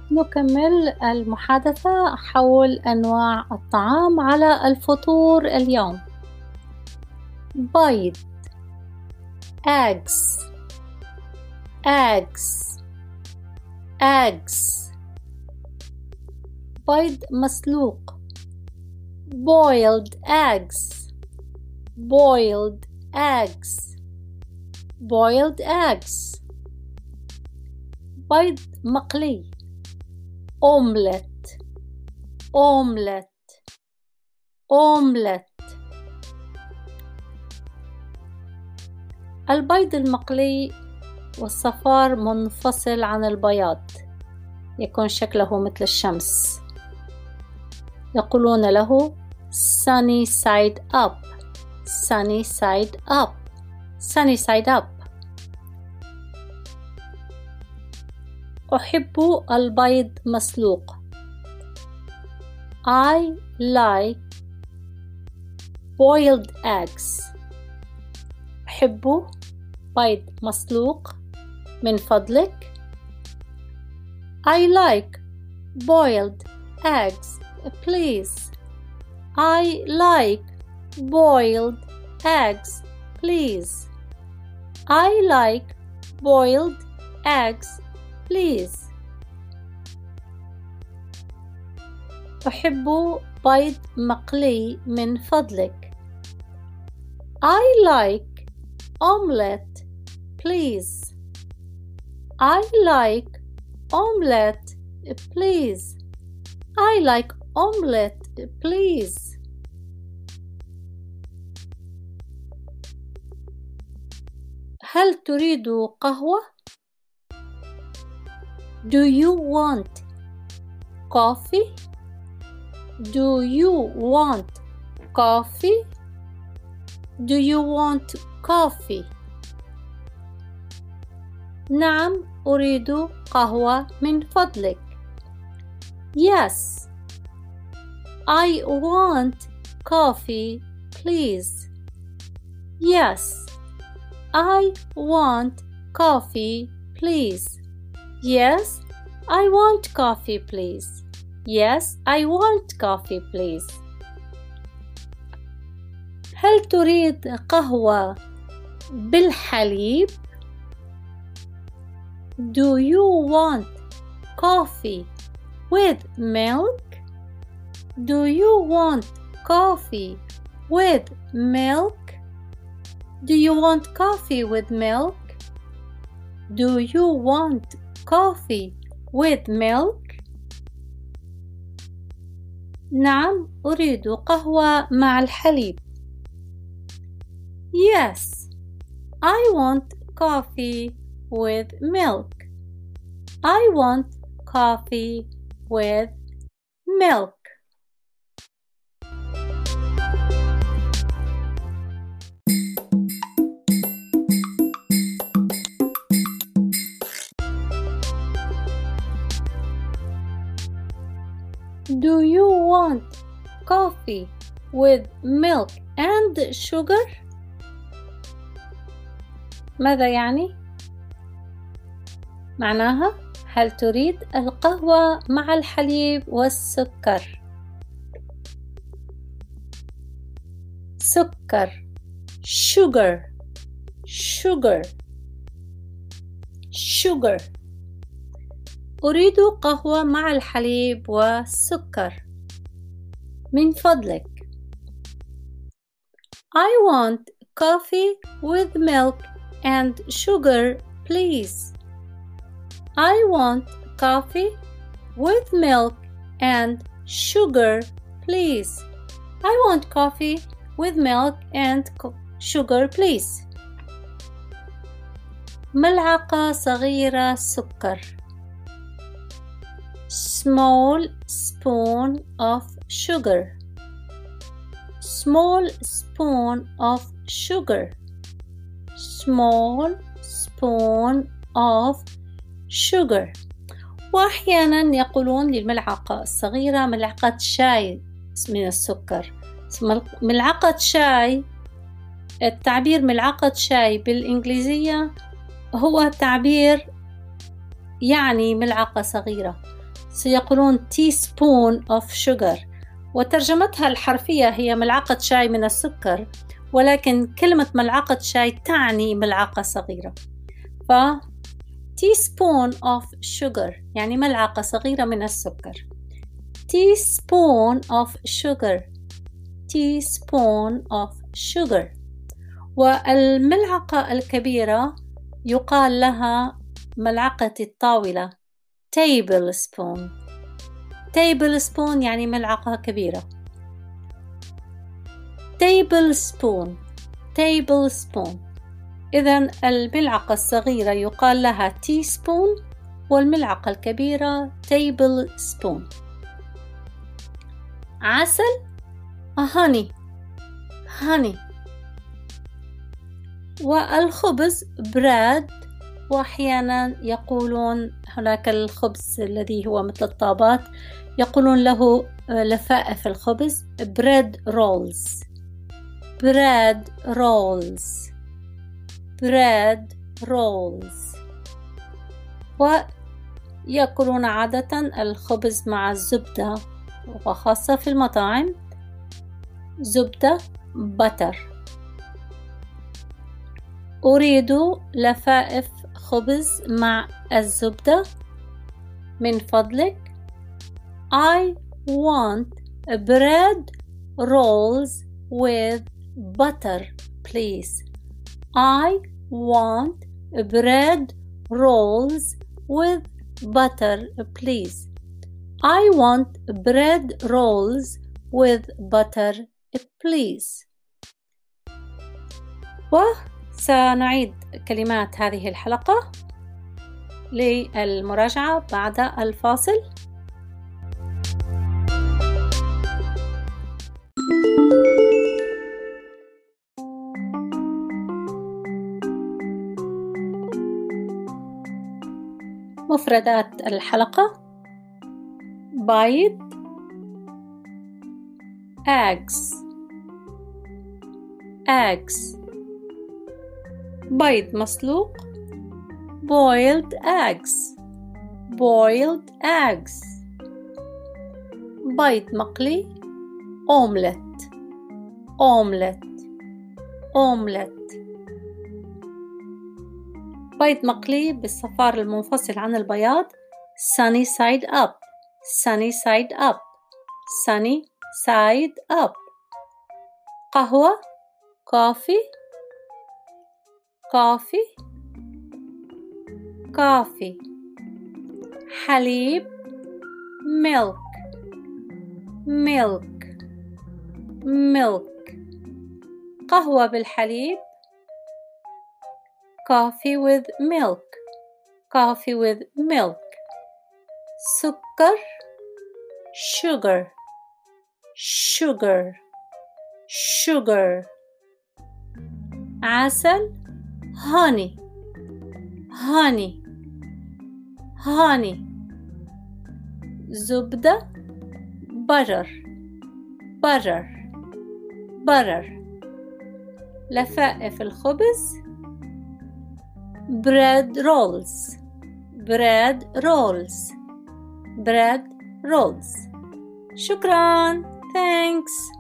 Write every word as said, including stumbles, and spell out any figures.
نكمل المحادثة حول أنواع الطعام على الفطور اليوم. بيض eggs eggs eggs بيض مسلوق boiled eggs boiled eggs boiled eggs بيض مقلي omelette omelette omelette البيض المقلي والصفار منفصل عن البياض، يكون شكله مثل الشمس، يقولون له sunny side up sunny side up sunny side up. أحب البيض مسلوق. I like boiled eggs. أحب بيض مسلوق من فضلك. I like boiled eggs please. I like boiled eggs please. I like boiled eggs please. أحب بيض مقلي من فضلك. I like omelette please. I like omelette please. I like omelette please. هل تريد قهوة؟ Do you want coffee? Do you want coffee? Do you want coffee? نعم أريد قهوة من فضلك. Yes, I want coffee please. Yes, I want coffee please. Yes, I want coffee please. Yes, I want coffee please. هل تريد قهوة بالحليب؟ Do you want coffee with milk? Do you want coffee with milk? Do you want coffee with milk? Do you want coffee with milk? نعم أريد قهوة مع الحليب. Yes, I want coffee with milk. I want coffee with milk. Do you want coffee with milk and sugar? ماذا يعني؟ معناها هل تريد القهوة مع الحليب والسكر؟ سكر sugar sugar sugar. أريد قهوة مع الحليب والسكر من فضلك. I want coffee with milk and sugar please. I want coffee with milk and sugar please. I want coffee with milk and sugar please. ملعقة صغيرة سكر. Small spoon of sugar. Small spoon of sugar. Small spoon of sugar. وأحيانا يقولون للملعقة الصغيرة ملعقة شاي من السكر. ملعقة شاي، التعبير ملعقة شاي بالإنجليزية هو تعبير يعني ملعقة صغيرة. سيقولون teaspoon of sugar، وترجمتها الحرفية هي ملعقة شاي من السكر، ولكن كلمة ملعقة شاي تعني ملعقة صغيرة. ف teaspoon of sugar يعني ملعقة صغيرة من السكر. teaspoon of sugar teaspoon of sugar. والملعقة الكبيرة يقال لها ملعقة الطاولة tablespoon. tablespoon يعني ملعقة كبيرة. tablespoon tablespoon. إذن الملعقة الصغيرة يقال لها teaspoon، والملعقة الكبيرة tablespoon. عسل honey honey. والخبز bread، وأحيانا يقولون هناك الخبز الذي هو مثل الطابات يقولون له لفائف الخبز bread rolls bread rolls bread rolls. ويأكلون عادة الخبز مع الزبدة، وخاصة في المطاعم زبدة butter. أريد لفائف خبز مع الزبدة من فضلك. I want bread rolls with butter please. I want bread rolls with butter please. I want bread rolls with butter please. وسنعيد كلمات هذه الحلقة للمراجعة بعد الفاصل. مفردات الحلقة: بيض eggs eggs. بيض مسلوق boiled eggs boiled eggs. بيض مقلي omelette omelette omelette. بيض مقلي بالصفار المنفصل عن البياض sunny side up sunny side up sunny side up. قهوة coffee coffee coffee. حليب milk milk milk. قهوة بالحليب coffee with milk coffee with milk. سكر sugar sugar sugar. عسل honey honey honey. زبدة butter butter butter. لفائف الخبز bread rolls bread rolls bread rolls. شكراً. thanks.